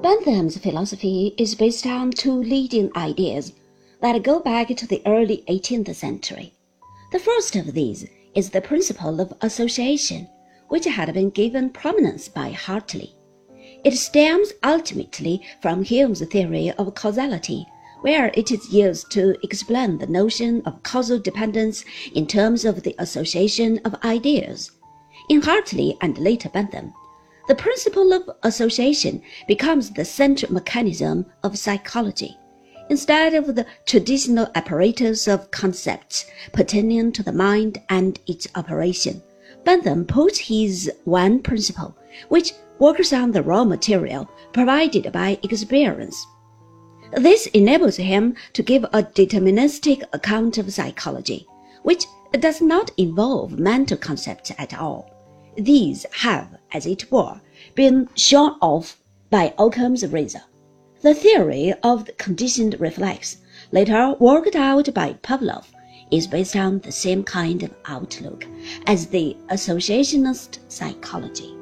Bentham's philosophy is based on two leading ideas that go back to the early 18th century. The first of these is the principle of association, which had been given prominence by Hartley. It stems ultimately from Hume's theory of causality, where it is used to explain the notion of causal dependence in terms of the association of ideas. In Hartley and later Bentham, the principle of association becomes the central mechanism of psychology, instead of the traditional apparatus of concepts pertaining to the mind and its operation. Bentham puts his one principle, which works on the raw material provided by experience. This enables him to give a deterministic account of psychology, which does not involve mental concepts at all. These have, as it were, been shorn off by Occam's razor. The theory of the conditioned reflex, later worked out by Pavlov, is based on the same kind of outlook as the associationist psychology.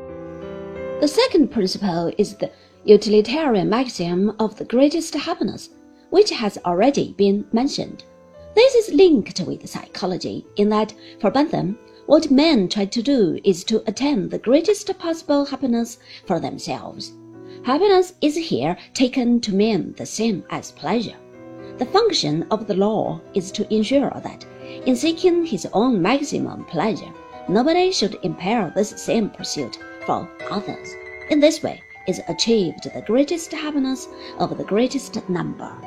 The second principle is the utilitarian maxim of the greatest happiness, which has already been mentioned. This is linked with psychology in that, for Bentham, what men try to do is to attain the greatest possible happiness for themselves. Happiness is here taken to mean the same as pleasure. The function of the law is to ensure that, in seeking his own maximum pleasure, nobody should impair this same pursuit for others. In this way is achieved the greatest happiness of the greatest number.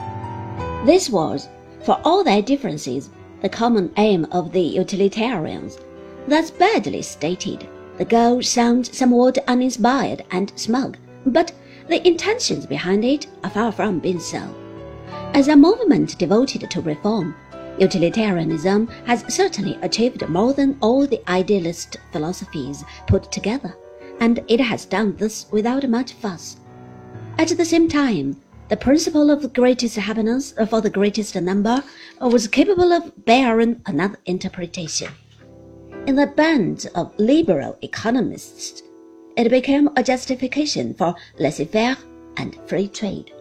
This was, for all their differences, the common aim of the utilitarians. Thus badly stated, the goal sounds somewhat uninspired and smug, but the intentions behind it are far from being so. As a movement devoted to reform, utilitarianism has certainly achieved more than all the idealist philosophies put together, and it has done this without much fuss. At the same time, the principle of the greatest happiness for the greatest number was capable of bearing another interpretation. In the bands of liberal economists, it became a justification for laissez-faire and free trade.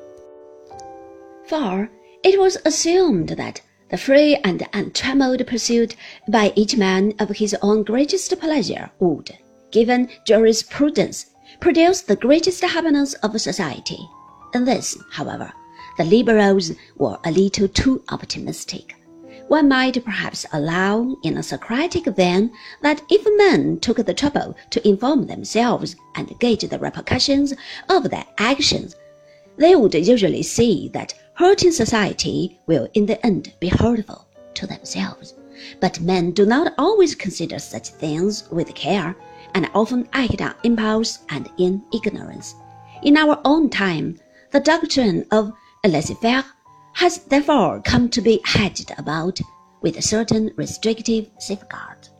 For it was assumed that the free and untrammeled pursuit by each man of his own greatest pleasure would, given jurisprudence, produce the greatest happiness of society. In this, however, the liberals were a little too optimistic. One might perhaps allow in a Socratic vein that if men took the trouble to inform themselves and gauge the repercussions of their actions, they would usually see that hurting society will in the end be hurtful to themselves. But men do not always consider such things with care, and often act on impulse and in ignorance. In our own time, the doctrine of laissez-faire has therefore come to be hedged about with certain restrictive safeguards.